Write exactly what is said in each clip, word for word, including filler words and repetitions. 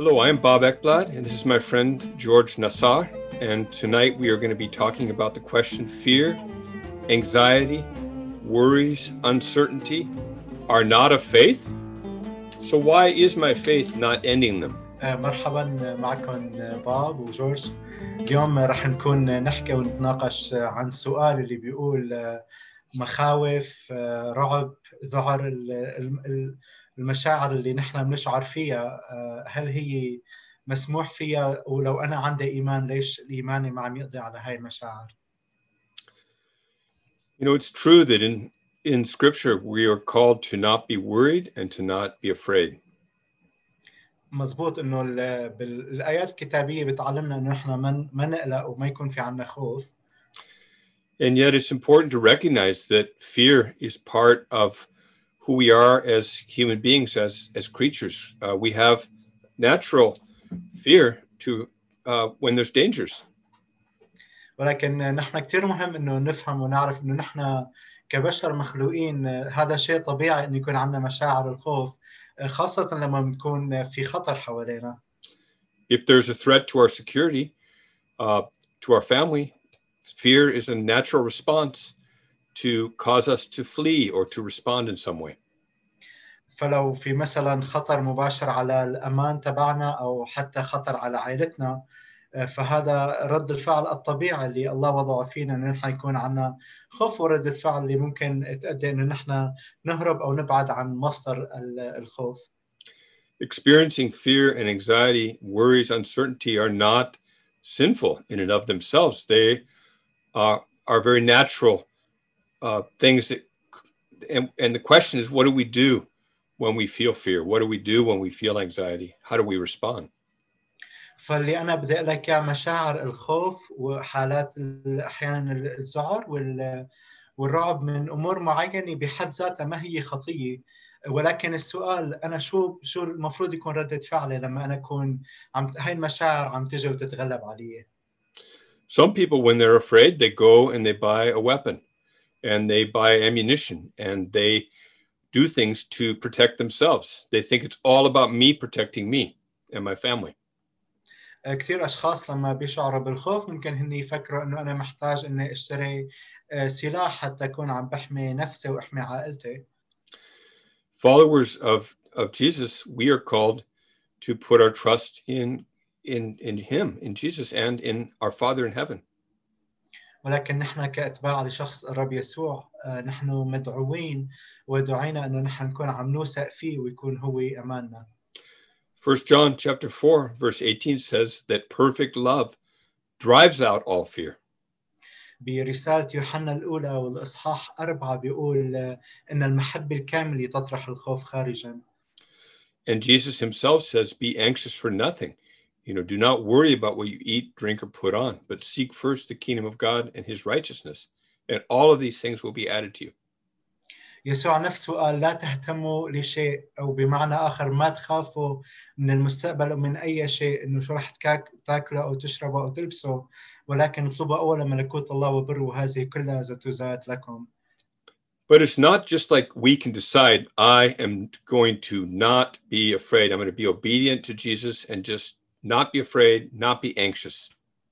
Hello, I'm Bob Ekblad, and this is my friend George Nassar. And tonight we are going to be talking about the question: fear, anxiety, worries, uncertainty are not of faith. So why is my faith not ending them? مرحبا معكم باب وجورج. اليوم رح نكون نحكي ونتناقش عن السؤال اللي بيقول مخاوف، رعب، ذعر، المشاعر اللي نحن بنشعر فيها، هل هي مسموح فيها؟ ولو أنا عندي إيمان ليش الإيمان ما عم يقضي على هاي المشاعر؟ You know, it's true that in, in Scripture we are called to not be worried and to not be afraid. مزبوط إنه بالآيات الكتابية بتعلمنا إنه إحنا ما ما نقلق وما يكون في عنا خوف. And yet it's important to recognize that fear is part of who we are as human beings, as, as creatures. Uh, we have natural fear to uh, when there's dangers. ولكن نحن كتير مهم إنه نفهم ونعرف إنه نحن كبشر مخلوقين، هذا شيء طبيعي إنه يكون عندنا مشاعر الخوف، خاصة لما بنكون في خطر حوالينا. If there's a threat to our security, uh, to our family, fear is a natural response to cause us to flee or to respond in some way. فلو في مثلا خطر مباشر على الأمان تبعنا أو حتى خطر على عائلتنا، فهذا رد الفعل الطبيعي اللي الله وضعه فينا، إنه نحن يكون عنا خوف وردة فعل اللي ممكن تؤدي إنه نحن نهرب أو نبعد عن مصدر الخوف. Experiencing fear and anxiety, worries, uncertainty are not sinful in and of themselves. They are, are very natural uh, things that, and, and the question is, what do we do when we feel fear? What do we do when we feel anxiety? How do we respond? فاللي أنا بدي أقول لك مشاعر الخوف وحالات أحيانا الذعر والرعب من أمور معينة بحد ذاتها ما هي خطية، ولكن السؤال أنا شو شو المفروض يكون ردة فعلي لما أنا أكون عم هاي المشاعر عم تجي وتتغلب علي. Some people, when they're afraid, they go and they buy a weapon and they buy ammunition and they do things to protect themselves. They think it's all about me protecting me and my family. كثير أشخاص لما بيشعروا بالخوف ممكن هن يفكروا إنه أنا محتاج إني أشتري سلاح حتى أكون عم بحمي نفسي وأحمي عائلتي. Followers of, of Jesus, we are called to put our trust in, in, in Him, in Jesus, and in our Father in heaven. ولكن نحن كأتباع لشخص الرب يسوع، نحن مدعوين ودعينا إنه نحن نكون عم نوثق فيه ويكون هو أماننا. First John chapter four, verse eighteen says that perfect love drives out all fear. برسالة يوحنا الأولى والإصحاح أربعة بيقول إن المحبة الكاملة تطرح الخوف خارجا. And Jesus himself says, be anxious for nothing. You know, do not worry about what you eat, drink, or put on, but seek first the kingdom of God and his righteousness. And all of these things will be added to you. يسوع نفسه قال لا تهتموا لشيء، أو بمعنى آخر ما تخافوا من المستقبل ومن أي شيء، إنه شو رح تاكلوا أو تشربوا أو تلبسوا، ولكن اطلبوا أولا ملكوت الله وبره وهذه كلها ستزاد لكم. But it's not just like we can decide, I am going to not be afraid. I'm going to be obedient to Jesus and just not be afraid, not be anxious.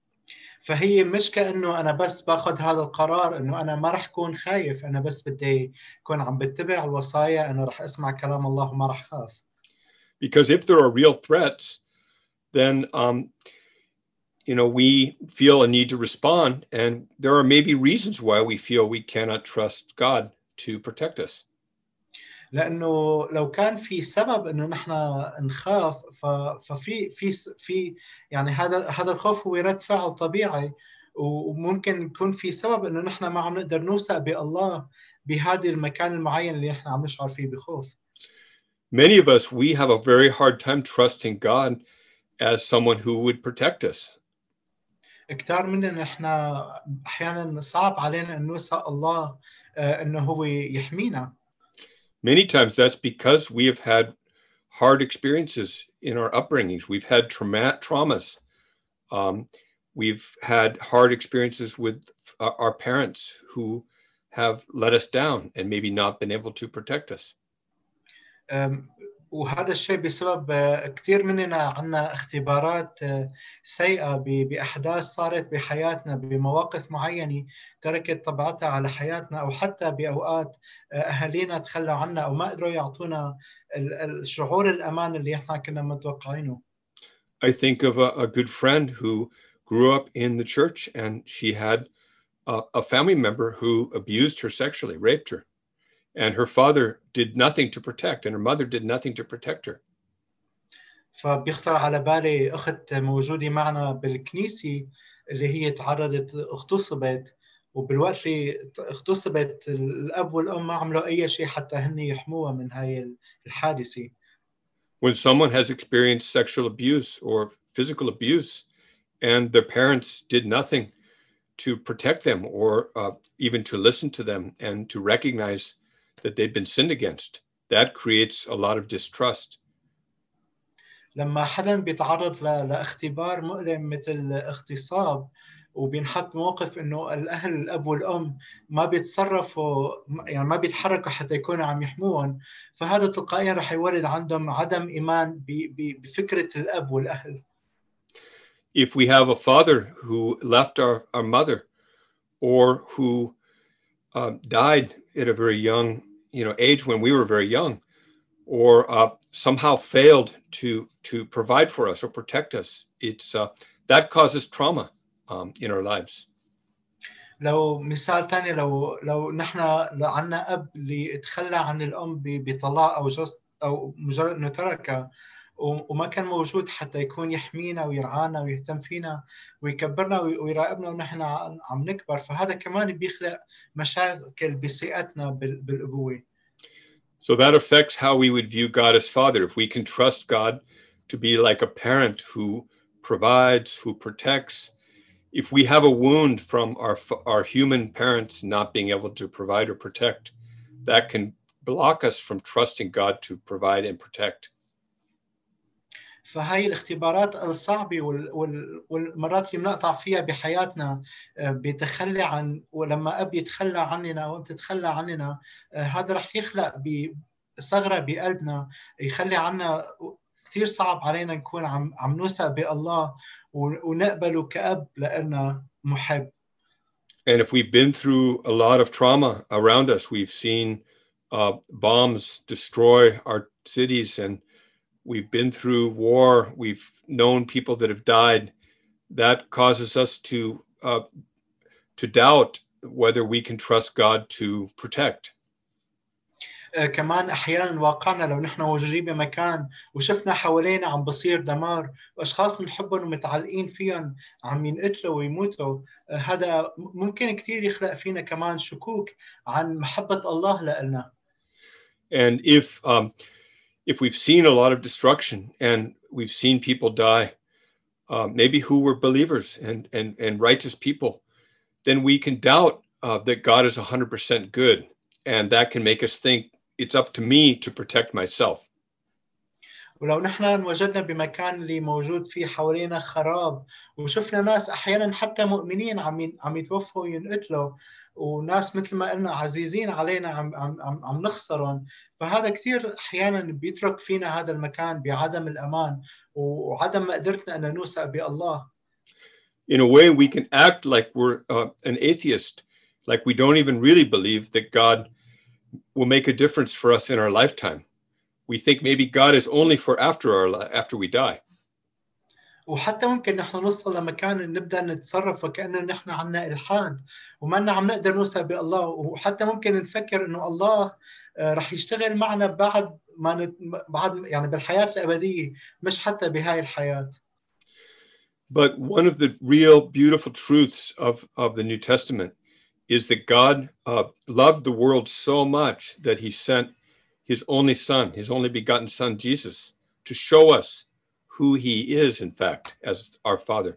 فهي مش كأنه أنا بس باخذ هذا القرار إنه أنا ما رح كون خايف، أنا بس بدي كون عم بتبع الوصايا، أنا رح أسمع كلام الله وما رح خاف. Because if there are real threats, then um, you know, we feel a need to respond, and there are maybe reasons why we feel we cannot trust God to protect us. لأنه لو كان في سبب إنه نحن نخاف، ففي في في يعني هذا هذا الخوف هو رد فعل طبيعي، وممكن يكون في سبب إنه نحن ما عم نقدر نوثق بالله بهذا المكان المعين اللي نحن عم نشعر فيه بخوف. Many of us, we have a very hard time trusting God as someone who would protect us. كتار مننا نحن أحيانا صعب علينا أن نوثق الله إنه هو يحمينا. Many times that's because we have had hard experiences in our upbringings. We've had trauma, traumas. Um, we've had hard experiences with our parents who have let us down and maybe not been able to protect us. وهذا الشيء بسبب كثير مننا عنا اختبارات سيئة بأحداث صارت بحياتنا بمواقف معينة تركت طبعتها على حياتنا، أو حتى بأوقات أهالينا تخلوا عنا أو ما قدروا يعطونا الشعور الأمان اللي احنا كنا متوقعينه. I think of a, a good friend who grew up in the church, and she had a, a family member who abused her sexually, raped her. And her father did nothing to protect, and her mother did nothing to protect her. فبيخطر على بالي أخت موجودة معنا بالكنيسة اللي هي تعرضت اغتصبت، وبالوقت اللي اغتصبت الأب والأم ما عملوا أي شيء حتى هن يحموها من هاي الحادثة. When someone has experienced sexual abuse or physical abuse, and their parents did nothing to protect them or uh, even to listen to them and to recognize that they've been sinned against, that creates a lot of distrust. لما حدا بيتعرض لاختبار مؤلم مثل اغتصاب وبينحط موقف انه الاهل الاب والام ما بيتصرفوا، يعني ما بيتحركوا حتى يكونوا عم يحموهم، فهذا تلقائيا رح يولد عندهم عدم ايمان بفكره الاب والاهل. If we have a father who left our, our mother, or who uh, died at a very young you know age when we were very young, or uh, somehow failed to to provide for us or protect us, it's uh, that causes trauma um, in our lives. لو مثال تاني، لو لو نحن عنا اب اللي تخلى عن الام بطلاق او جست او مجرد انه تركها وما كان موجود حتى يكون يحمينا ويرعانا ويهتم فينا ويكبرنا ويراقبنا ونحن عم نكبر، فهذا كمان بيخلق مشاكل بثقتنا بالابوه. So that affects how we would view God as Father. If we can trust God to be like a parent who provides, who protects, if we have a wound from our our human parents not being able to provide or protect, that can block us from trusting God to provide and protect. فهي الاختبارات الصعبة والمرات اللي بنقطع فيها بحياتنا بتخلي عن، ولما أب يتخلى عننا وأنت تتخلى عننا، هذا رح يخلق بثغرة بقلبنا يخلي عنا كثير صعب علينا نكون عم عم نوثق بالله ونقبله كأب لنا محب. And if we've been through a lot of trauma around us, we've seen uh, bombs destroy our cities, and we've been through war, we've known people that have died, that causes us to uh, to doubt whether we can trust God to protect. كمان احيانا واقعنا لو نحن موجودين بمكان وشفنا حوالينا عم بصير دمار واشخاص بنحبهم ومتعلقين فيهم عم ينقتلوا ويموتوا، هذا ممكن كثير يخلق فينا كمان شكوك عن محبة الله لنا. And if um, if we've seen a lot of destruction and we've seen people die, uh, maybe who were believers and and and righteous people, then we can doubt uh, that God is one hundred percent good, and that can make us think it's up to me to protect myself. ولو نحن وجدنا بمكان اللي موجود فيه حوالينا خراب وشفنا ناس احيانا حتى مؤمنين عم عم يتوفوا وينقتلوا، وناس مثل ما قلنا عزيزين علينا عم عم عم نخسرهم، فهذا كثير احيانا بيترك فينا هذا المكان بعدم الامان وعدم قدرتنا ان نوثق بالله. In a way, we can act like we're uh, an atheist, like we don't even really believe that God will make a difference for us in our lifetime. We think maybe God is only for after our after we die. وحتى ممكن نحن نوصل لمكان نبدا نتصرف وكانه نحن عنا الحاد وما عم نقدر نوصل بالله، وحتى ممكن نفكر انه الله رح يشتغل معنا بعد ما نت... بعد يعني بالحياه الابديه مش حتى بهاي الحياه. But one of the real beautiful truths of, of the New Testament is that God uh, loved the world so much that he sent his only son, his only begotten son, Jesus, to show us who he is, in fact, as our Father.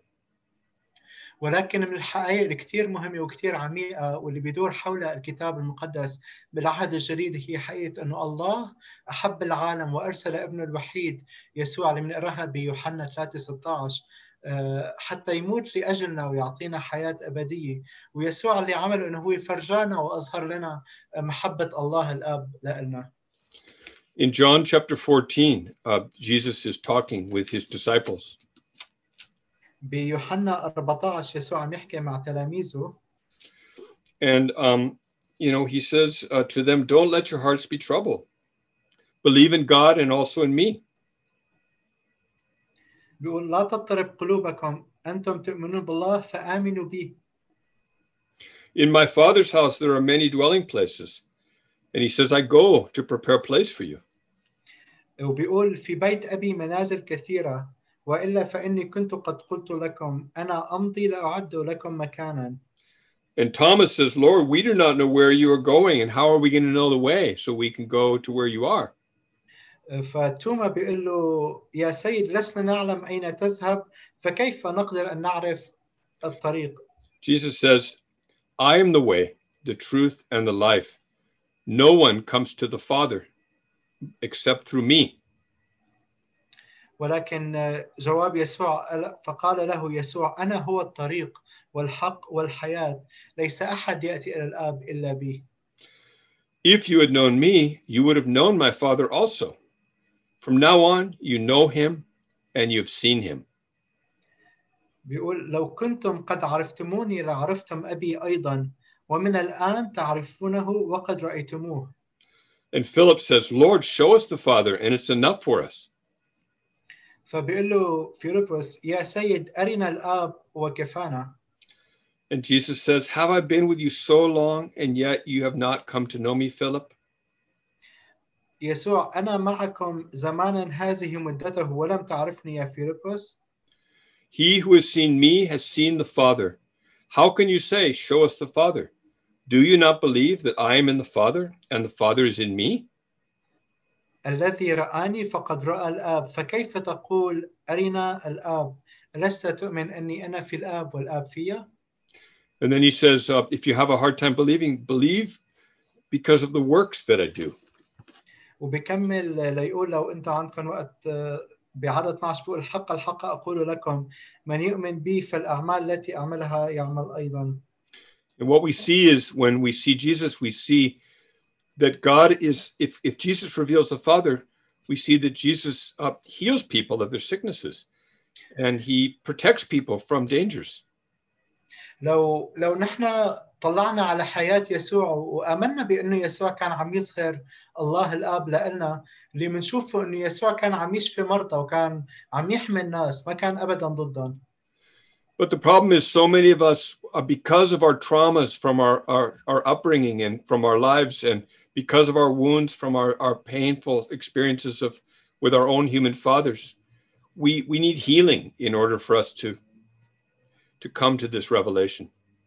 ولكن من الحقائق الكثير مهمة وكثير عميقة واللي بيدور حولها الكتاب المقدس بالعهد الجديد هي حقيقة أنه الله أحب العالم وأرسل ابنه الوحيد يسوع اللي بنقراها بيوحنا ثلاثة ستة عشر حتى يموت لأجلنا ويعطينا حياة أبدية، ويسوع اللي عمله أنه هو فرجانا وأظهر لنا محبة الله الآب لنا. In John chapter fourteen, uh, Jesus is talking with his disciples. بيوحنا أربعة عشر يسوع عم يحكي مع تلاميذه. And, um, you know, he says uh, to them, don't let your hearts be troubled. Believe in God and also in me. بيقول لا تضطرب قلوبكم أنتم تؤمنون بالله فآمنوا بي. In my Father's house, there are many dwelling places. And he says, I go to prepare a place for you. وبيقول في بيت أبي منازل كثيرة وإلا فإني كنت قد قلت لكم أنا أمضي لأعد لكم مكانا. And Thomas says, Lord, we do not know where you are going, and how are we going to know the way so we can go to where you are? فتوما بيقول له يا سيد لسنا نعلم أين تذهب فكيف نقدر أن نعرف الطريق. Jesus says, I am the way, the truth, and the life. No one comes to the Father except through me. ولكن جواب يسوع فقال له يسوع أنا هو الطريق والحق والحياة ليس أحد يأتي إلى الآب إلا بي. If you had known me, you would have known my Father also. From now on, you know him and you have seen him. بيقول لو كنتم قد عرفتموني لعرفتم أبي أيضا ومن الآن تعرفونه وقد رأيتموه. And Philip says, Lord, show us the Father and it's enough for us. فبيقول له فيلبس يا سيد أرنا الآب وكفانا. And Jesus says, have I been with you so long and yet you have not come to know me, Philip? يسوع أنا معكم زمانا هذه مدته ولم تعرفني يا فيلبس. He who has seen me has seen the Father. How can you say, show us the Father? Do you not believe that I am in the Father and the Father is in me? الذي رآني فقد رأى الآب فكيف تقول أرنا الآب ألست تؤمن أني أنا في الآب والآب فيا؟ And then he says, uh, if you have a hard time believing, believe because of the works that I do. وبكمل ليقول لو أنت عندكم وقت بعدد اثنا عشر بيقول الحق الحق أقول لكم من يؤمن بي فالأعمال التي أعملها يعمل أيضا. And what we see is when we see Jesus, we see that God is, if, if Jesus reveals the Father, we see that Jesus uh, heals people of their sicknesses and he protects people from dangers. لو لو نحن طلعنا على حياة يسوع وآمنا بأنه يسوع كان عم يظهر الله الآب لنا اللي بنشوفه إنه يسوع كان عم يشفي مرضى وكان عم يحمي الناس ما كان أبدا ضدهم. But the problem is so many of us, uh, because of our traumas from our, our, our upbringing and from our lives and because of our wounds from our, our painful experiences of with our own human fathers, we, we need healing in order for us to, to come to this revelation.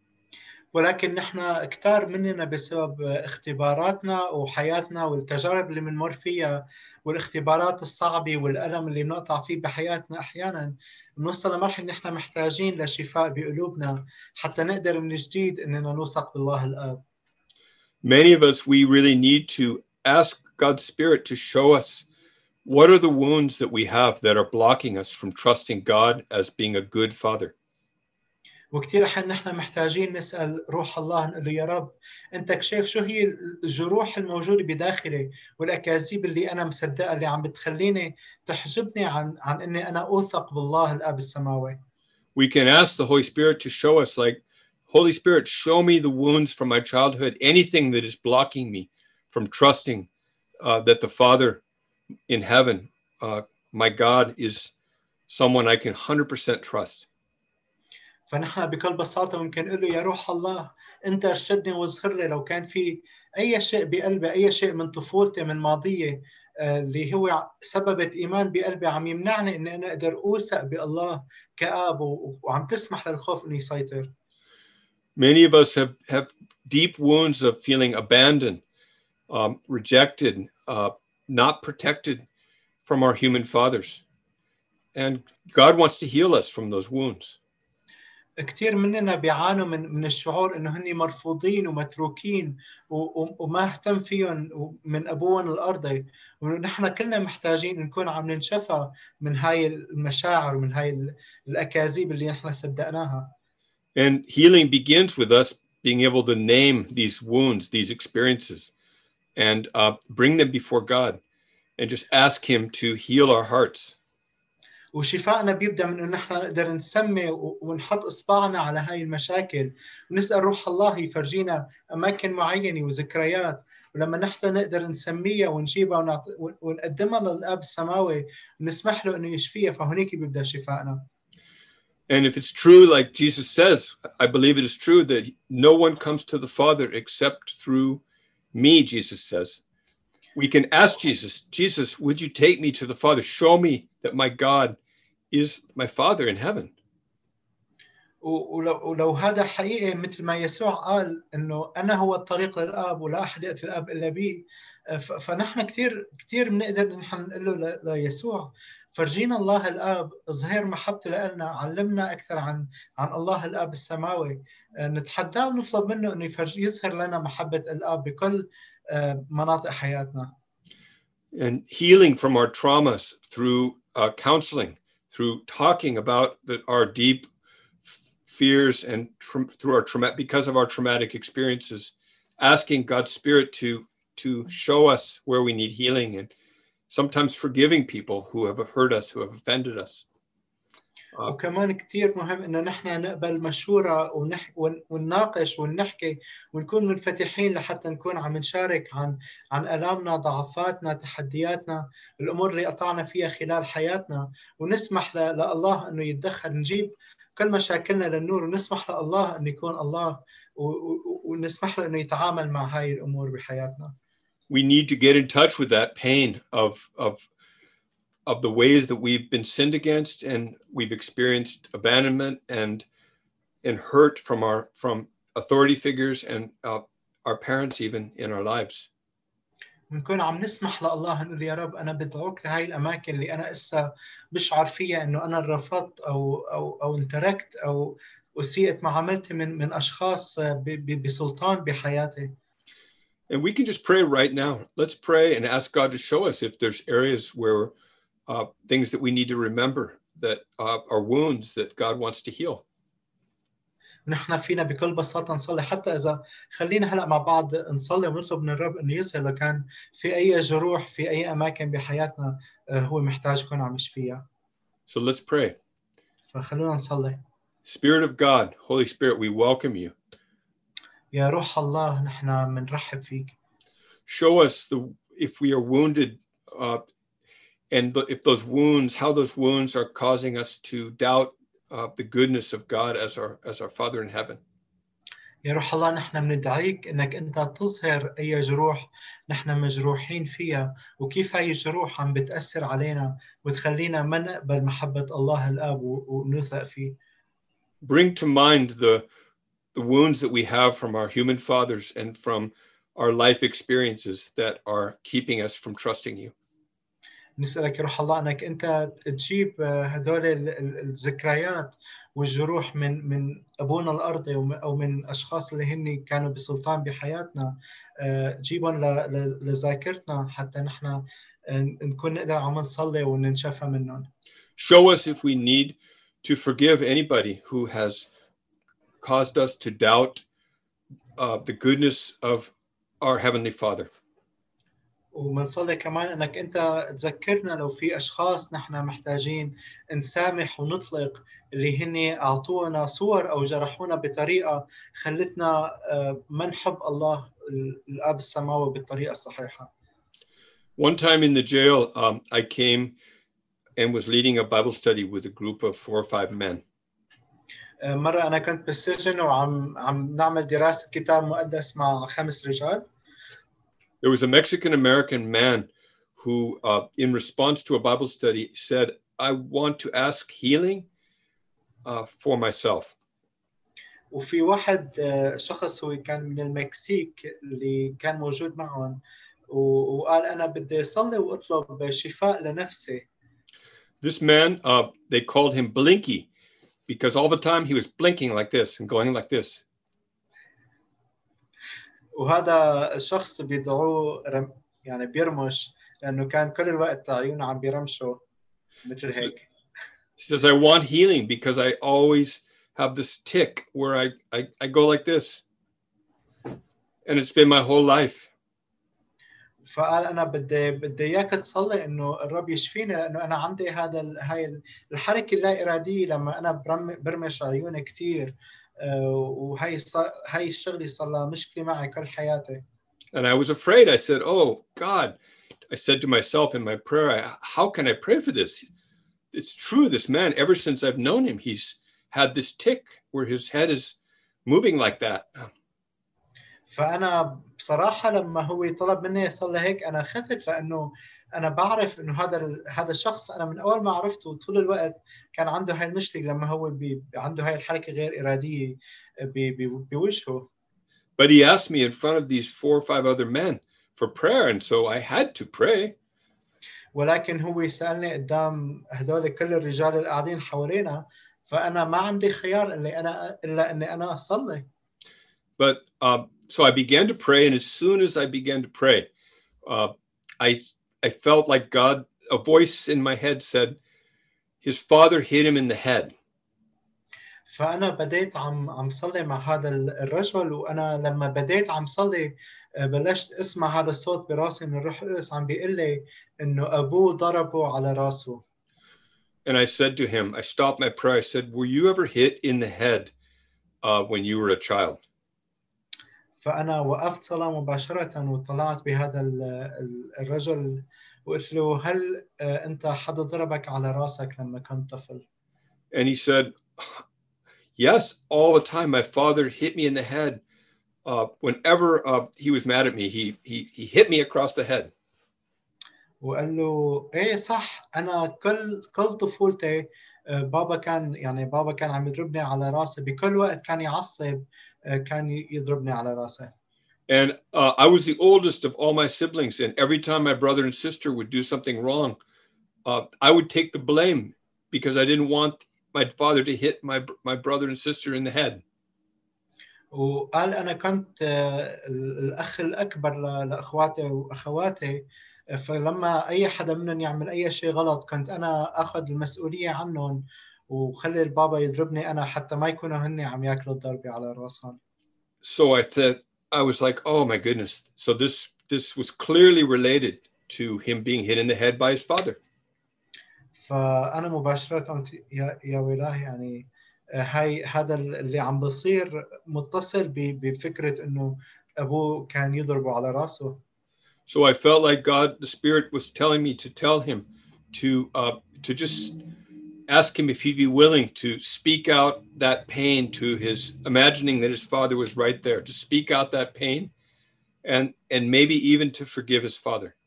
ولكن نحن كتار مننا بسبب اختباراتنا وحياتنا والتجارب اللي بنمر فيها والاختبارات الصعبة والألم اللي بنقطع فيه بحياتنا أحيانا بنوصل لمرحلة نحن محتاجين لشفاء بقلوبنا حتى نقدر من جديد إننا نوثق بالله الآب. Many of us, we really need to ask God's Spirit to show us what are the wounds that we have that are blocking us from trusting God as being a good father. وكثير أحيانا نحن محتاجين نسأل روح الله نقول له يا رب أنت كشف شو هي الجروح الموجودة بداخلي والأكاذيب اللي أنا مصدقها اللي عم بتخليني تحجبني عن عن إني أنا أوثق بالله الآب السماوي. We can ask the Holy Spirit to show us, like, Holy Spirit, show me the wounds from my childhood, anything that is blocking me from trusting uh, that the Father in heaven, uh, my God, is someone I can one hundred percent trust. فنحن بكل بساطة ممكن نقول له يا روح الله أنت ارشدني واظهر لي لو كان في أي شيء بقلبي أي شيء من طفولتي من ماضية اللي هو سببت إيمان بقلبي عم يمنعني إني أنا أقدر أوثق بالله كآب وعم تسمح للخوف إنه يسيطر. Many of us have, have deep wounds of feeling abandoned, um, rejected, uh, not protected from our human fathers. And God wants to heal us from those wounds. كثير مننا بيعانوا من من الشعور انه هن مرفوضين ومتروكين وما اهتم فيهم من ابوهم الارضي ونحن كلنا محتاجين نكون عم ننشفى من هاي المشاعر ومن هاي الاكاذيب اللي نحن صدقناها. And healing begins with us being able to name these wounds, these experiences, and uh, bring them before God. and just ask him to heal our hearts. وشفائنا بيبدأ من إنه نحن نقدر نسمي ونحط إصبعنا على هاي المشاكل ونسأل روح الله يفرجينا أماكن معينة وذكريات، ولما نحن نقدر نسميها ونجيبها ونعط... ونقدمها للأب السماوي ونسمح له إنه يشفيها، فهنيك بيبدأ شفائنا. And if it's true, like Jesus says, I believe it is true that no one comes to the Father except through me, Jesus says. We can ask Jesus, Jesus, would you take me to the Father? Show me that my God is my Father in heaven. ولو, ولو هذا حقيقي مثل ما يسوع قال إنه أنا هو الطريق للآب ولا أحد يأتي الآب إلا بي، فنحن كثير كثير بنقدر نحن نقول له ليسوع فرجينا الله الآب، اظهر محبته لنا، علمنا أكثر عن عن الله الآب السماوي، نتحداه ونطلب منه إنه يفرج يظهر لنا محبة الآب بكل مناطق حياتنا. And healing from our traumas through uh, counseling, through talking about the, our deep fears and tra- through our trauma, because of our traumatic experiences, asking God's Spirit to to show us where we need healing, and sometimes forgiving people who have hurt us, who have offended us. Uh, وكمان كتير مهم إنه نحن نقبل مشورة ونح ونناقش ونحكي ونكون منفتحين لحتى نكون عم نشارك عن عن آلامنا، ضعفاتنا، تحدياتنا، الأمور اللي قطعنا فيها خلال حياتنا، ونسمح لله إنه يتدخل، نجيب كل مشاكلنا للنور ونسمح لله إنه يكون الله ونسمح له إنه يتعامل مع هاي الأمور بحياتنا. We need to get in touch with that pain of of of the ways that we've been sinned against and we've experienced abandonment and and hurt from our from authority figures and uh, our parents even in our lives. نكون عم نسمح لله نقول يا رب أنا بدعوك لهاي الأماكن اللي أنا إسا بشعر فيها إنه أنا رفضت أو أو أو انتركت أو أسيئت معاملتي من من أشخاص بسلطان بحياتي. And we can just pray right now. Let's pray and ask God to show us if there's areas where uh, things that we need to remember that uh, are wounds that God wants to heal. نحن فينا بكل بساطة نصلي، حتى إذا خلينا هلأ مع بعض نصلي ونطلب من الرب إنه يظهر لو كان في أي جروح في أي أماكن بحياتنا هو محتاج يكون عم يشفيها. So let's pray. فخلونا نصلي. Spirit of God, Holy Spirit, we welcome you. يا روح الله نحن منرحب فيك. Show us the if we are wounded uh, and the, if those wounds, how those wounds are causing us to doubt uh, the goodness of God as our as our Father in heaven. يا روح الله نحن بندعيك انك انت تظهر اي جروح نحن مجروحين فيها، وكيف هاي الجروح عم بتأثر علينا وتخلينا ما نقبل محبة الله الآب ونثق فيه. Bring to mind the the wounds that we have from our human fathers and from our life experiences that are keeping us from trusting you. نسألك يا روح الله أنك أنت تجيب هدول الذكريات والجروح من من أبونا الأرضي أو من أشخاص اللي هن كانوا بسلطان بحياتنا، جيبهم لذاكرتنا حتى نحن نكون نقدر عم نصلي وننشفى منهم. Show us if we need to forgive anybody who has caused us to doubt uh, the goodness of our Heavenly Father. ومنصلي كمان انك انت تذكرنا لو في اشخاص نحن محتاجين نسامح ونطلق اللي هن اعطونا صور او جرحونا بطريقه خلتنا ما نحب الله الاب السماوي بالطريقه الصحيحه. One time in the jail, um, I came and was leading a Bible study with a group of four or five men. مره انا كنت بالسجن وعم عم نعمل دراسه كتاب مقدس مع خمس رجال. There was a Mexican-American man who, uh, in response to a Bible study, said, I want to ask healing uh, for myself. وفي واحد شخص هو كان من المكسيك اللي كان موجود معهم وقال أنا بدي أصلي وأطلب شفاء لنفسي. This man, uh, they called him Blinky because all the time he was blinking like this and going like this. وهذا الشخص بيدعوه رم يعني بيرمش لأنه كان كل الوقت عيونه عم بيرمشوا مثل هيك. He says, I want healing because I always have this tick where I, I, I go like this. And it's been my whole life. فقال انا بدي بدي اياك تصلي انه الرب يشفيني، لانه انا عندي هذا ال- هاي الحركه اللا اراديه لما انا برم- برمش عيوني كثير، وهي ص- هاي الشغله صار لها مشكله معي كل حياتي. And I was afraid. I said, "Oh God," I said to myself in my prayer, I, "How can I pray for this? It's true. This man, ever since I've known him, he's had this tick where his head is moving like that." فانا بصراحه لما هو طلب مني اصلي هيك انا خفت، لانه انا بعرف انه هذا ال- هذا الشخص انا من اول ما عرفته طول الوقت كان عنده هاي المشكله، لما هو بي عنده هاي الحركه غير اراديه بي- بي- بوجهه. But he asked me in front of these four or five other men for prayer, and so I had to pray. ولكن هو سالني قدام هذول كل الرجال اللي قاعدين حوالينا، فانا ما عندي خيار الا انا الا اني انا اصلي. But um, so I began to pray, and as soon as I began to pray, uh, I I felt like God, a voice in my head said, his father hit him in the head. فأنا بديت عم عم صلي مع هذا الرجل، وأنا لما بديت عم صلي بلشت أسمع هذا الصوت براسي من الروح القدس عم بيقول لي إنه أبوه ضربه على راسه. And I said to him, I stopped my prayer. I said, "Were you ever hit in the head uh, when you were a child?" فأنا وقفت صلاة مباشرة وطلعت بهذا الرجل وقلت له هل أنت حدا ضربك على راسك لما كنت طفل؟ And he said, "Yes, all the time. My father hit me in the head. Uh, whenever uh, he was mad at me, he, he, he hit me across the head." وقال له ايه صح، انا كل كل طفولتي بابا كان يعني بابا كان عم يضربني على راسي بكل وقت، كان يعصب كان يضربني على راسي. And uh, I was the oldest of all my siblings, and every time my brother and sister would do something wrong, uh, I would take the blame because I didn't want my father to hit my my brother and sister in the head. وقال انا كنت الاخ الاكبر لاخواتي واخواتي، فلما اي حدا منهم يعمل اي شيء غلط كنت انا اخذ المسؤوليه عنهم وخلي البابا يضربني انا حتى ما يكونوا هن عم ياكلوا الضربه على راسهم. So I thought, I was like, oh my goodness. So this this was clearly related to him being hit in the head by his father. فانا مباشره قلت يا يا ولاه، يعني هاي هذا اللي عم بصير متصل بفكره انه ابوه كان يضربه على راسه. So I felt like God, the Spirit, was telling me to tell him to uh, to just ask him if he'd be willing to speak out that pain to his, imagining that his father was right there, to speak out that pain, and and maybe even to forgive his father.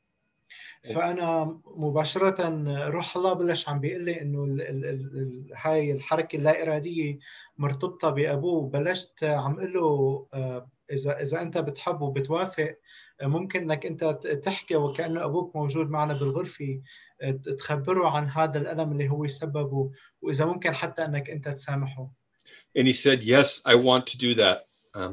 فانا مباشره روح الله بلش عم بيقول لي انه ال ال ال هاي الحركه اللا اراديه مرتبطه بابوه. بلشت عم اقول له اذا اذا انت بتحب وبتوافق ممكن انك انت تحكي وكانه ابوك موجود معنا بالغرفه، تخبره عن هذا الالم اللي هو سببه، واذا ممكن حتى انك انت تسامحه. And he said, "Yes, I want to do that." Um,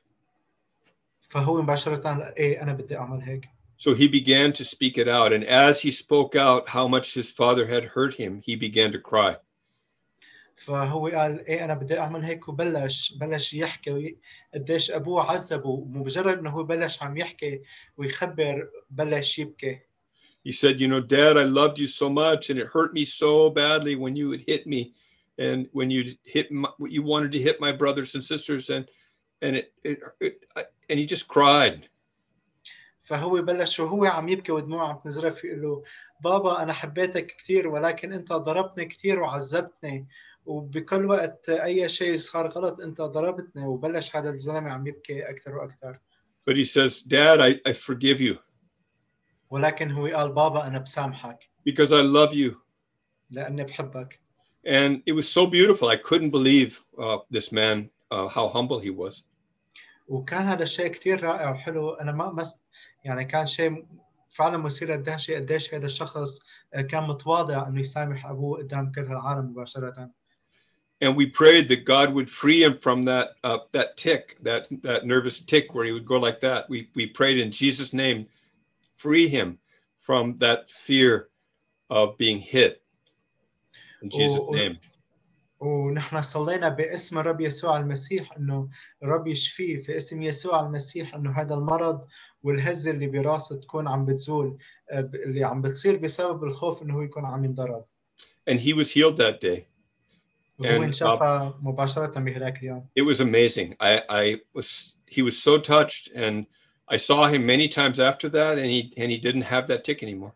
فهو مباشره ايه انا بدي اعمل هيك. So he began to speak it out. And as he spoke out how much his father had hurt him, he began to cry. فهو قال ايه انا بدي اعمل هيك، وبلش بلش يحكي قديش ابوه عذبه، ومجرد انه هو بلش عم يحكي ويخبر بلش يبكي. He said, "You know, Dad, I loved you so much, and it hurt me so badly when you would hit me, and when you hit my, you wanted to hit my brothers and sisters, and and it, it, it and he just cried." فهو بلش وهو عم يبكي ودموعه عم تنزرف يقول له بابا انا حبيتك كثير، ولكن انت ضربتني كثير وعذبتني، وبكل وقت اي شيء صار غلط انت ضربتني. وبلش هذا الزلمه عم يبكي اكثر واكثر. But he says, "Dad, I, I forgive you ولكن هو قال بابا انا بسامحك because I love you." لاني بحبك. And it was so beautiful. I couldn't believe uh, this man, uh, how humble he was. وكان هذا الشيء كثير رائع وحلو. انا ما مس يعني كان شيء فعلا مثير للدهشه قديش هذا الشخص كان متواضع انه يسامح ابوه قدام كل العالم مباشره. And we prayed that God would free him from that uh, that tick, that that nervous tick where he would go like that. We we prayed in Jesus' name, free him from that fear of being hit. In Jesus' و... name. ونحن صلينا باسم الرب يسوع المسيح انه الرب يشفيه في اسم يسوع المسيح، انه هذا المرض والهزه اللي براسه تكون عم بتزول، اللي عم بتصير بسبب الخوف انه هو يكون عم ينضرب. And he was healed that day. وهو And uh, انشفى مباشرة بهذاك اليوم. it was amazing. I, I was, he was so touched, and I saw him many times after that, and he, and he didn't have that tick anymore.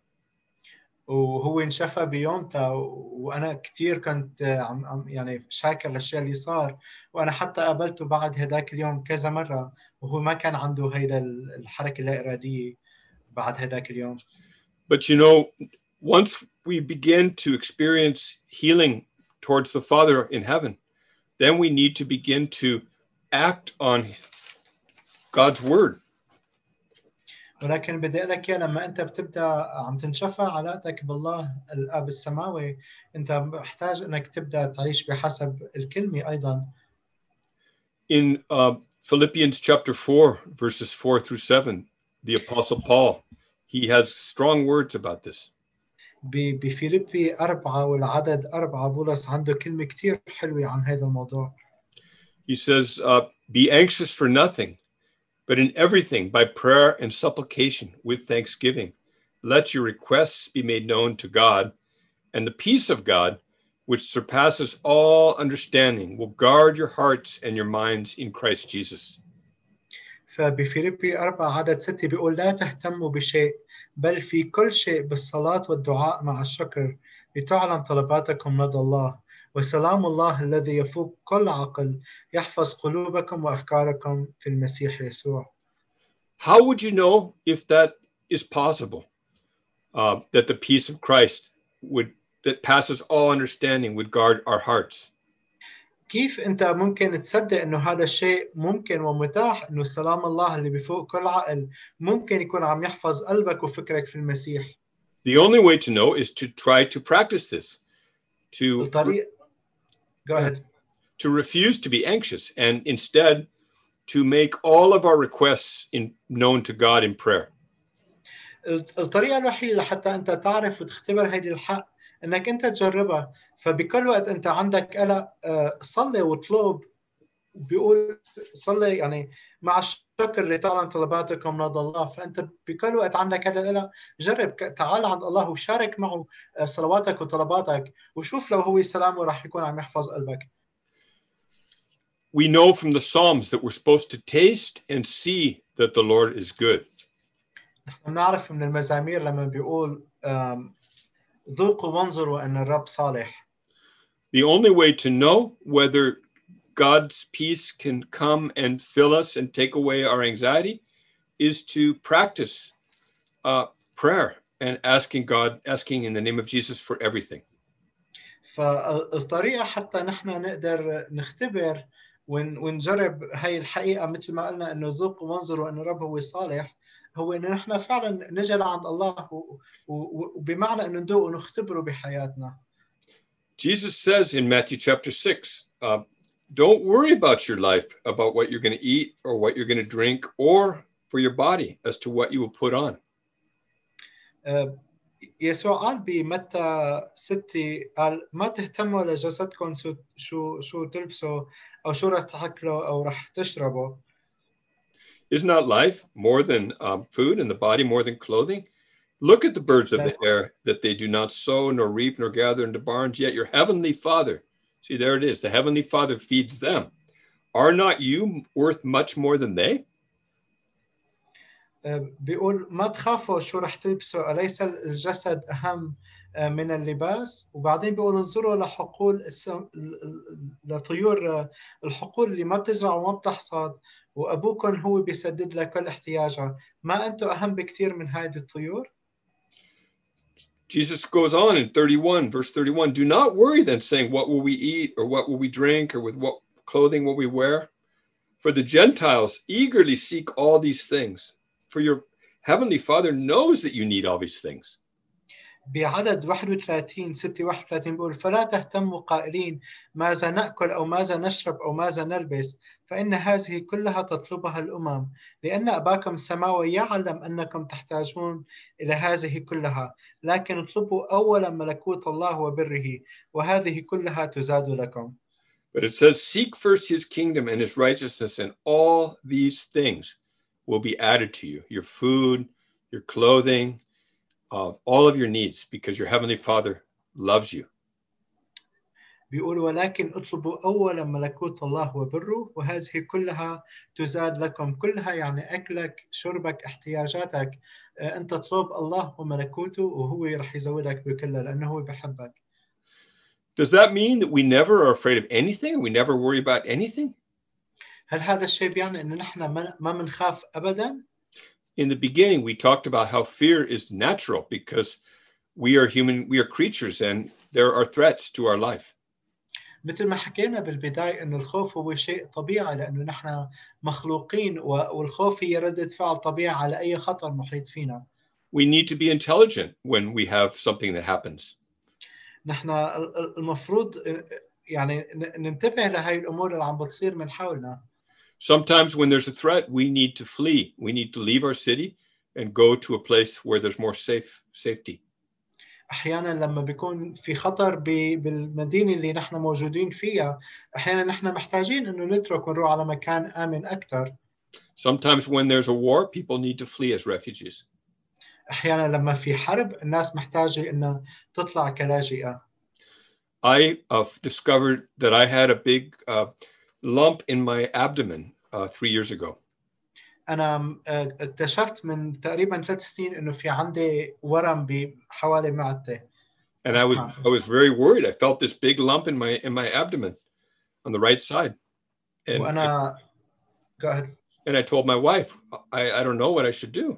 وهو انشفى بيومتها، وانا كثير كنت عم عم يعني شاكر للشيء اللي صار، وانا حتى قابلته بعد هذاك اليوم كذا مرة، وهو ما كان عنده هيدا الحركة اللا إرادية بعد هذاك اليوم. But you know, once we begin to experience healing towards the Father in heaven, then we need to begin to act on God's word. ولكن بدي اقول لك لما انت بتبدا عم تنشفى علاقتك بالله الاب السماوي، انت محتاج انك تبدا تعيش بحسب الكلمه ايضا. In uh, Philippians chapter four, verses four through seven, the Apostle Paul, he has strong words about this. بفيليبي أربعة والعدد أربعة بولس عنده كلمة كتير حلوة عن هذا الموضوع. He says, uh, be anxious for nothing, but in everything by prayer and supplication with thanksgiving, let your requests be made known to God, and the peace of God, which surpasses all understanding, will guard your hearts and your minds in Christ Jesus. فبفيليبي أربعة عدد ستة بيقول لا تهتموا بشيء، بل في كل شيء بالصلاة والدعاء مع الشكر لتعلم طلباتكم لدى الله، وسلام الله الذي يفوق كل عقل يحفظ قلوبكم وأفكاركم في المسيح يسوع. How would you know if that is possible? Uh, that the peace of Christ would that passes all understanding would guard our hearts. كيف أنت ممكن تصدق إنه هذا الشيء ممكن ومتاح، إنه سلام الله اللي بفوق كل عقل ممكن يكون عم يحفظ قلبك وفكرك في المسيح؟ The only way to know is to try to practice this. To الطريق Go ahead. To refuse to be anxious and instead to make all of our requests in, known to God in prayer. الطريقة الوحيدة لحتى أنت تعرف وتختبر هذه الحق إنك أنت تجربها، فبكل وقت أنت عندك قلق صلي واطلب، بيقول صلي يعني مع الشكر اللي تعلم طلباتكم لدى الله، فأنت بكل وقت عندك هذا القلق جرب تعال عند الله وشارك معه صلواتك وطلباتك، وشوف لو هو سلامه راح يكون عم يحفظ قلبك. We know from the Psalms that we're supposed to taste and see that the Lord is good. نحن نعرف من المزامير لما بيقول ذوقوا وانظروا أن الرب صالح. The only way to know whether God's peace can come and fill us and take away our anxiety is to practice uh, prayer and asking God, asking in the name of Jesus for everything. فالطريقة حتى نحن نقدر نختبر ونجرب هاي الحقيقة مثل ما قلنا إنه ذوقوا وانظروا أن الرب هو صالح، هو إن نحن فعلا نجي لعند الله وبمعنى إنه ندوق ونختبره بحياتنا. Jesus says in Matthew chapter six, uh, don't worry about your life, about what you're going to eat or what you're going to drink, or for your body as to what you will put on. يسوع قال بمتى ستة قال ما تهتموا لجسدكم شو شو تلبسوا أو شو رح تاكلوا أو رح تشربوا. Is not life more than um, food and the body more than clothing? Look at the birds of the air, that they do not sow nor reap nor gather into barns, yet your heavenly Father, see there it is, the heavenly Father feeds them. Are not you worth much more than they? بيقول ما تخافوا شو رح تلبسوا، أليس الجسد أهم من اللباس؟ وبعدين بيقول انظروا لحقول السم... لطيور الحقول اللي ما بتزرع وما بتحصد، وأبوكم هو بيسدد لك كل احتياجها، ما أنتم أهم بكثير من هذه الطيور؟ Jesus goes on in thirty-one, verse thirty-one, do not worry then, saying, what will we eat, or what will we drink, or with what clothing will we wear? For the Gentiles eagerly seek all these things, for your heavenly Father knows that you need all these things. بعدد واحد وثلاثين ستة واحد وثلاثين بيقول فلا تهتموا قائلين ماذا نأكل أو ماذا نشرب أو ماذا نلبس فإن هذه كلها تطلبها الأمم لأن أباكم السماوي يعلم أنكم تحتاجون إلى هذه كلها لكن اطلبوا أولا ملكوت الله وبره وهذه كلها تزاد لكم. But it says, seek first his kingdom and his righteousness, and all these things will be added to you. Your food, your clothing, uh, all of your needs, because your heavenly Father loves you. بيقول ولكن اطلبوا أولا ملكوت الله وبره وهذه كلها تزاد لكم. كلها يعني أكلك شربك احتياجاتك أنت تطلب الله وملكوته وهو رح يزودك بكلها لأنه هو بحبك. Does that mean that we never are afraid of anything? We never worry about anything? هل هذا الشيء بيعني إن نحن ما منخاف أبدا؟ In the beginning, we talked about how fear is natural because we are human, we are creatures, and there are threats to our life. مثل ما حكينا بالبداية إنه الخوف هو شيء طبيعي لأنه نحن مخلوقين والخوف هي ردة فعل طبيعي على أي خطر محيط فينا. We need to be intelligent when we have something that happens. نحن المفروض يعني ننتبه لهاي الأمور اللي عم بتصير من حولنا. Sometimes when there's a threat, we need to flee. We need to leave our city and go to a place where there's more safe safety. أحيانا لما بيكون في خطر بالمدينة اللي نحن موجودين فيها أحيانا نحن محتاجين إنه نترك ونروح على مكان آمن أكثر. Sometimes when there's a war, people need to flee as refugees. أحيانا لما في حرب الناس محتاجة إنها تطلع كلاجئة. I uh, discovered that I had a big uh, lump in my abdomen uh, three years ago. أنا اكتشفت من تقريبا ثلاث سنين إنه في عندي ورم بحوالي معدتي. And I was I was very worried. I felt this big lump in my in my abdomen on the right side. And وأنا go ahead. And I told my wife, I I don't know what I should do.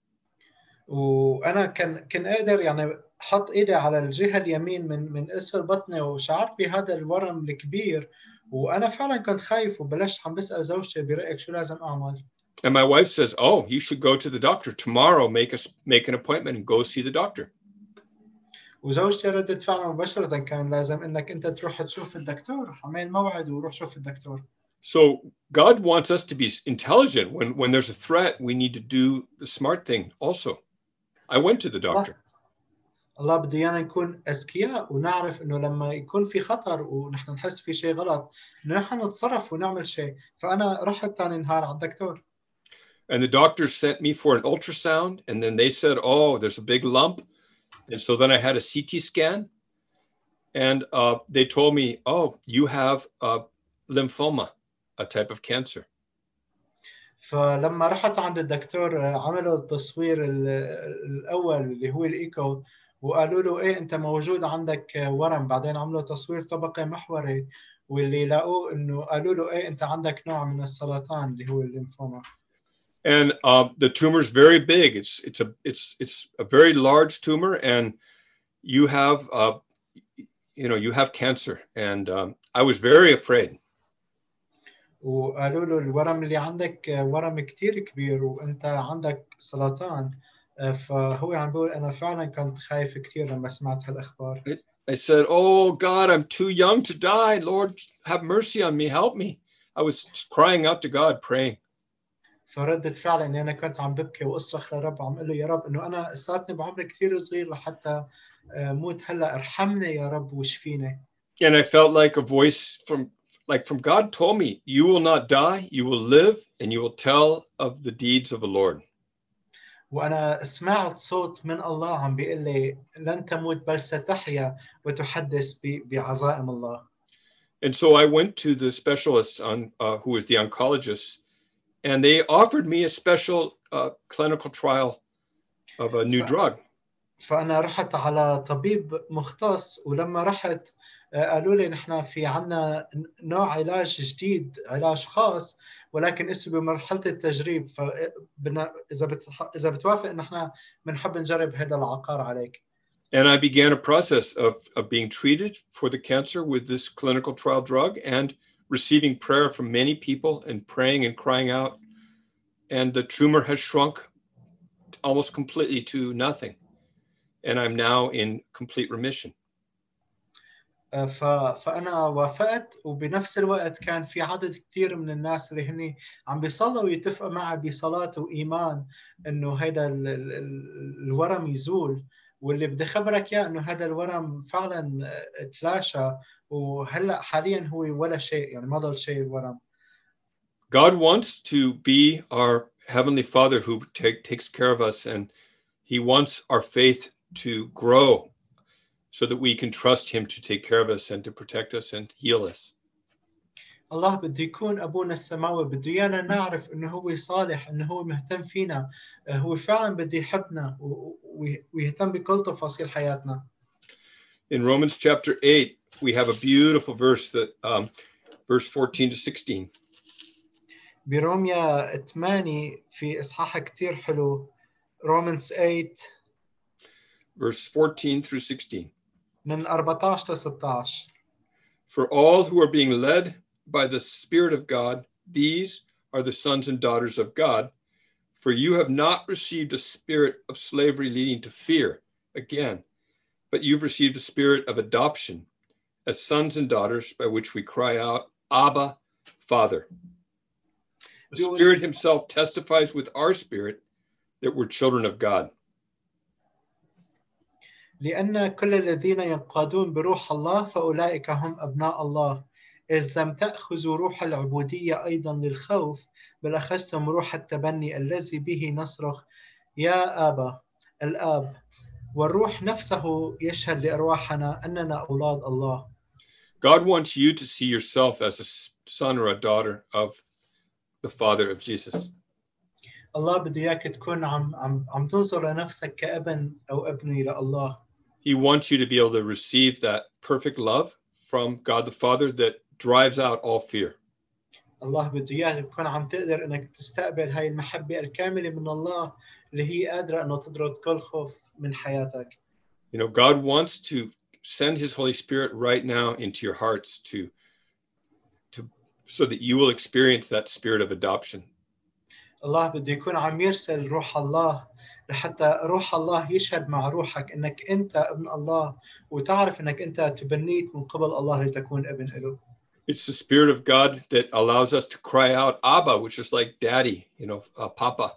وأنا كان كان قادر يعني حط إيدي على الجهة اليمين من من أسفل بطني وشعرت بهذا الورم الكبير وأنا فعلا كنت خايف وبلشت عم بسأل زوجتي برأيك شو لازم أعمل. And my wife says, "Oh, you should go to the doctor tomorrow. Make us make an appointment and go see the doctor." وزوجتي ردت فعلا مباشرة كان لازم إنك أنت تروح تشوف الدكتور. عمل موعد وروح شوف الدكتور. So God wants us to be intelligent. When when there's a threat, we need to do the smart thing also. I went to the doctor. الله بده إيانا نكون أذكياء ونعرف إنه لما يكون في خطر ونحن نحس في شيء غلط إنه نحن نتصرف ونعمل شيء. فأنا رحت ثاني نهار على الدكتور. And the doctor sent me for an ultrasound, and then they said, "Oh, there's a big lump." And so then I had a C T scan, and uh, they told me, "Oh, you have uh, lymphoma, a type of cancer." فلما رحت عند الدكتور عملوا التصوير الأول اللي هو الإيكو وقالوا له إيه أنت موجود عندك ورم. بعدين عملوا تصوير طبقي محوري واللي لقوه إنه قالوا له إيه أنت عندك نوع من السرطان اللي هو الليمفوما. And uh, the tumor is very big. It's it's a it's it's a very large tumor, and you have uh, you know you have cancer. And um, I was very afraid. وقالوا له الورم اللي عندك ورم كتير كبير وانت عندك سرطان. فهو عم بيقول انا فعلا كنت خايف كتير لما سمعت هالاخبار. I said, "Oh God, I'm too young to die. Lord, have mercy on me. Help me." I was crying out to God, praying. فردت فعلا اني انا كنت عم ببكي واصرخ لرب عم اقول له يا رب انه انا لساتني بعمر كثير صغير لحتى موت هلا ارحمني يا رب واشفيني. And I felt like a voice from like from God told me, "You will not die, you will live, and you will tell of the deeds of the Lord." وانا سمعت صوت من الله عم بيقول لي لن تموت بل ستحيا وتحدث بعظائم الله. And so I went to the specialist on uh, who was the oncologist, and they offered me a special uh, clinical trial of a new ف... drug. فأنا رحت على طبيب مختص ولما رحت قالوا لي نحن في عنا نوع علاج جديد علاج خاص ولكن اسمه بمرحلة التجريب فبنا إذا بت... إذا بتوافق نحن بنحب نجرب هذا العقار عليك. And I began a process of, of being treated for the cancer with this clinical trial drug and receiving prayer from many people and praying and crying out. And the tumor has shrunk almost completely to nothing. and I'm now in complete remission. ف... فأنا وافقت، وبنفس الوقت كان في عدد كتير من الناس اللي هني عم بيصلوا ويتفقوا معي بصلاة وإيمان إنه هذا ال... ال... الورم يزول، واللي بدي خبرك يا إنه هذا الورم فعلا تلاشى، وهلأ حاليا هو ولا شيء، يعني ما ضل شيء الورم. God wants to be our Heavenly Father who take, takes care of us, and He wants our faith to grow so that we can trust Him to take care of us and to protect us and heal us. الله بده يكون أبونا السماوي، بده إيانا نعرف إنه هو صالح، إنه هو مهتم فينا، هو فعلا بده يحبنا ويهتم بكل تفاصيل حياتنا. In Romans chapter eight, we have a beautiful verse that um, verse fourteen to sixteen. بروميا ثمانية في إصحاح كتير حلو. Romans eight verse fourteen through sixteen. من أربعة عشر ل ستة عشر. For all who are being led by the Spirit of God, these are the sons and daughters of God. For you have not received a spirit of slavery leading to fear again, but you've received a spirit of adoption as sons and daughters, by which we cry out, Abba, Father. The Spirit Himself testifies with our spirit that we're children of God. لأن كل الذين ينقادون بروح الله فأولئك هم أبناء الله. إذ لم تأخذوا روح العبودية أيضا للخوف، بل أخذتم روح التبني الذي به نصرخ يا آبا الآب، والروح نفسه يشهد لأرواحنا أننا أولاد الله. God wants you to see yourself as a son or a daughter of the Father of Jesus. الله بده إياك تكون عم عم عم تنظر لنفسك كابن أو ابنة لله. He wants you to be able to receive that perfect love from God the Father that drives out all fear. الله بده إياك تكون عم تقدر إنك تستقبل هاي المحبة الكاملة من الله اللي هي قادرة إنه تطرد كل خوف من حياتك. You know, God wants to send His Holy Spirit right now into your hearts to, to, so that you will experience that spirit of adoption. الله بده يكون عم يرسل روح الله لحتى روح الله يشهد مع روحك إنك أنت ابن الله، وتعرف إنك أنت تبنيت من قبل الله لتكون ابن له. It's the Spirit of God that allows us to cry out, Abba, which is like daddy, you know, uh, Papa.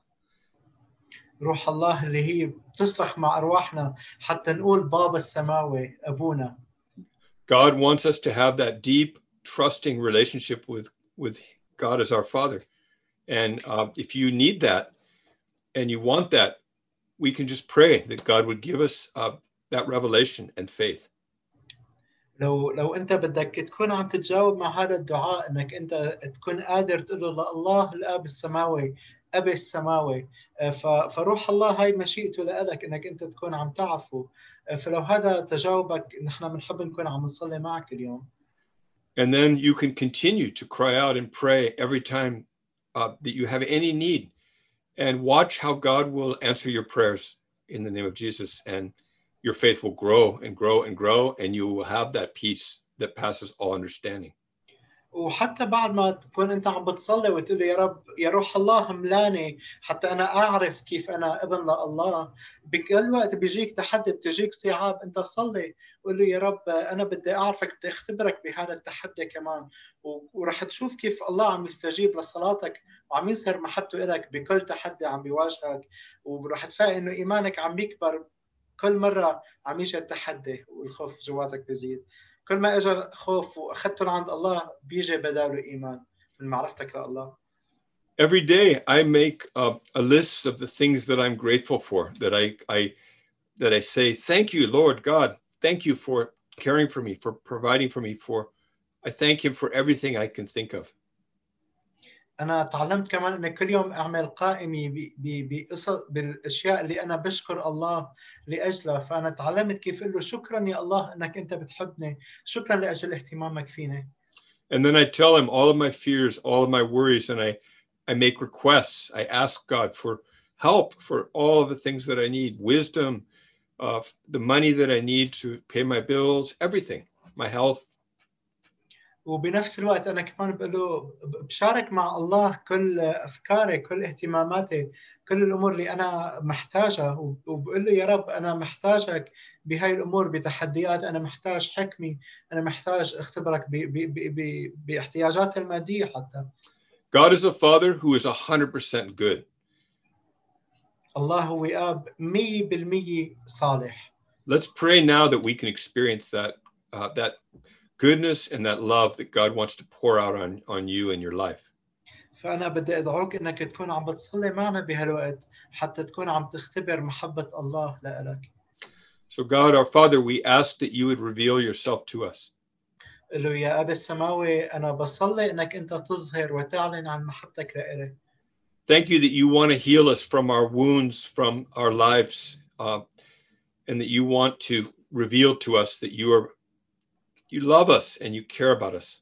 روح الله اللي هي بتصرخ مع أرواحنا حتى نقول بابا السماوي أبونا. God wants us to have that deep, trusting relationship with, with God as our Father. And uh, if you need that and you want that, we can just pray that God would give us uh, that revelation and faith. لو لو أنت بدك تكون عم تتجاوب مع هذا الدعاء، إنك أنت تكون قادر تقول له الله الآب السماوي، أبي السماوي، فروح الله هاي مشيئته لك إنك أنت تكون عم تعرفه. فلو هذا تجاوبك، نحن بنحب نكون عم نصلي معك اليوم. And then you can continue to cry out and pray every time uh, that you have any need, and watch how God will answer your prayers in the name of Jesus, and your faith will grow and grow and grow, and you will have that peace that passes all understanding. وحتى بعد ما تكون أنت عم بتصلي وتقول يا رب يا روح الله ملاني حتى أنا أعرف كيف أنا ابن لله، بكل وقت بيجيك تحدي بتجيك صعاب، أنت صلي قول له يا رب أنا بدي أعرفك، بدي أختبرك بهذا التحدي كمان، ورح تشوف كيف الله عم يستجيب لصلاتك وعم يظهر محبته لك بكل تحدي عم بيواجهك، ورح تلاقي إنه إيمانك عم بيكبر كل مرة عم يجي التحدي والخوف جواتك بيزيد. كل ما اجى خوف واخذته عند الله بيجي بداله ايمان من معرفتك لله. Every day I make a, a list of the things that I'm grateful for, that I I that I say thank you Lord God, thank you for caring for me, for providing for me, for I thank Him for everything I can think of. أنا تعلمت كمان إن كل يوم أعمل قائمة بالأشياء اللي أنا بشكر الله لأجلها، فأنا تعلمت كيف أقول له شكرا يا الله إنك أنت بتحبني، شكرا لأجل اهتمامك فيني. And then I tell Him all of my fears, all of my worries, and I I make requests. I ask God for help for all of the things that I need, wisdom, uh, the money that I need to pay my bills, everything, my health. وبنفس الوقت أنا كمان بقول له بشارك مع الله كل أفكاري، كل اهتماماتي، كل الأمور اللي أنا محتاجها، وبقول له يا رب أنا محتاجك بهاي الأمور، بتحديات، أنا محتاج حكمي، أنا محتاج اختبرك ب- ب- ب- ب- باحتياجاتي المادية حتى. God is a father who is one hundred percent good. الله هو أب مية بالمية صالح. Let's pray now that we can experience that uh, that goodness and that love that God wants to pour out on, on you in your life. فأنا بدي أدعوك إنك تكون عم بتصلي معنا بهالوقت حتى تكون عم تختبر محبة الله لإلك. So God, our Father, we ask that you would reveal yourself to us. قل له يا أبي السماوي أنا بصلي إنك أنت تظهر وتعلن عن محبتك لإلي. Thank you that you want to heal us from our wounds, from our lives, uh, and that you want to reveal to us that you are, you love us and you care about us.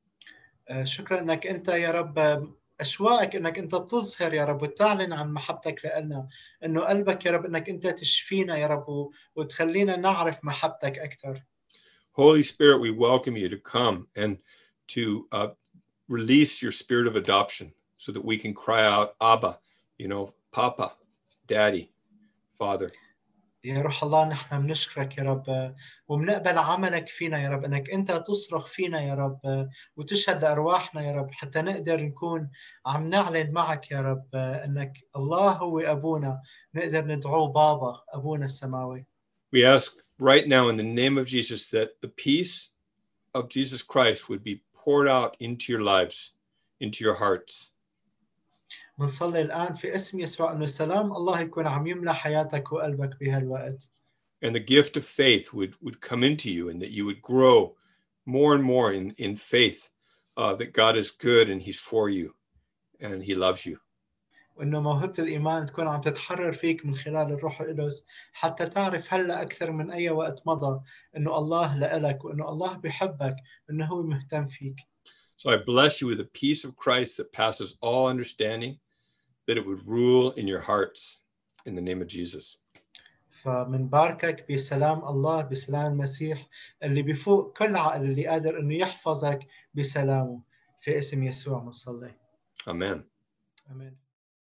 آه، شكرا إنك أنت يا رب أشواقك إنك أنت تظهر يا رب وتعلن عن محبتك لنا، إنه قلبك يا رب إنك أنت تشفينا يا رب وتخلينا نعرف محبتك أكثر. Holy Spirit, we welcome you to come and to uh, release your spirit of adoption so that we can cry out, Abba, you know, Papa, Daddy, Father. يا روح الله نحن بنشكرك يا رب وبنقبل عملك فينا يا رب، انك انت تصرخ فينا يا رب وتشهد ارواحنا يا رب حتى نقدر نكون عم نعلن معك يا رب انك الله هو ابونا، نقدر ندعوه بابا ابونا السماوي. We ask right now in the name of Jesus that the peace of Jesus Christ would be poured out into your lives, into your hearts. بنصلي الان في اسم يسوع انه سلام الله يكون عم يملى حياتك وقلبك بهالوقت. And the gift of faith would, would come into you, and that you would grow more and more in, in faith uh, that God is good and he's for you and he loves you. وإنه موهبة الإيمان تكون عم تتحرر فيك من خلال الروح القدس حتى تعرف هلا أكثر من أي وقت مضى إنه الله لإلك وإنه الله بيحبك وإنه هو مهتم فيك. So I bless you with the peace of Christ that passes all understanding, that it would rule in your hearts in the name of Jesus. فمنباركك بسلام الله، بسلام المسيح اللي بفوق كل عقل، اللي قادر إنه يحفظك بسلامه، في اسم يسوع بنصلي. Amen. آمين.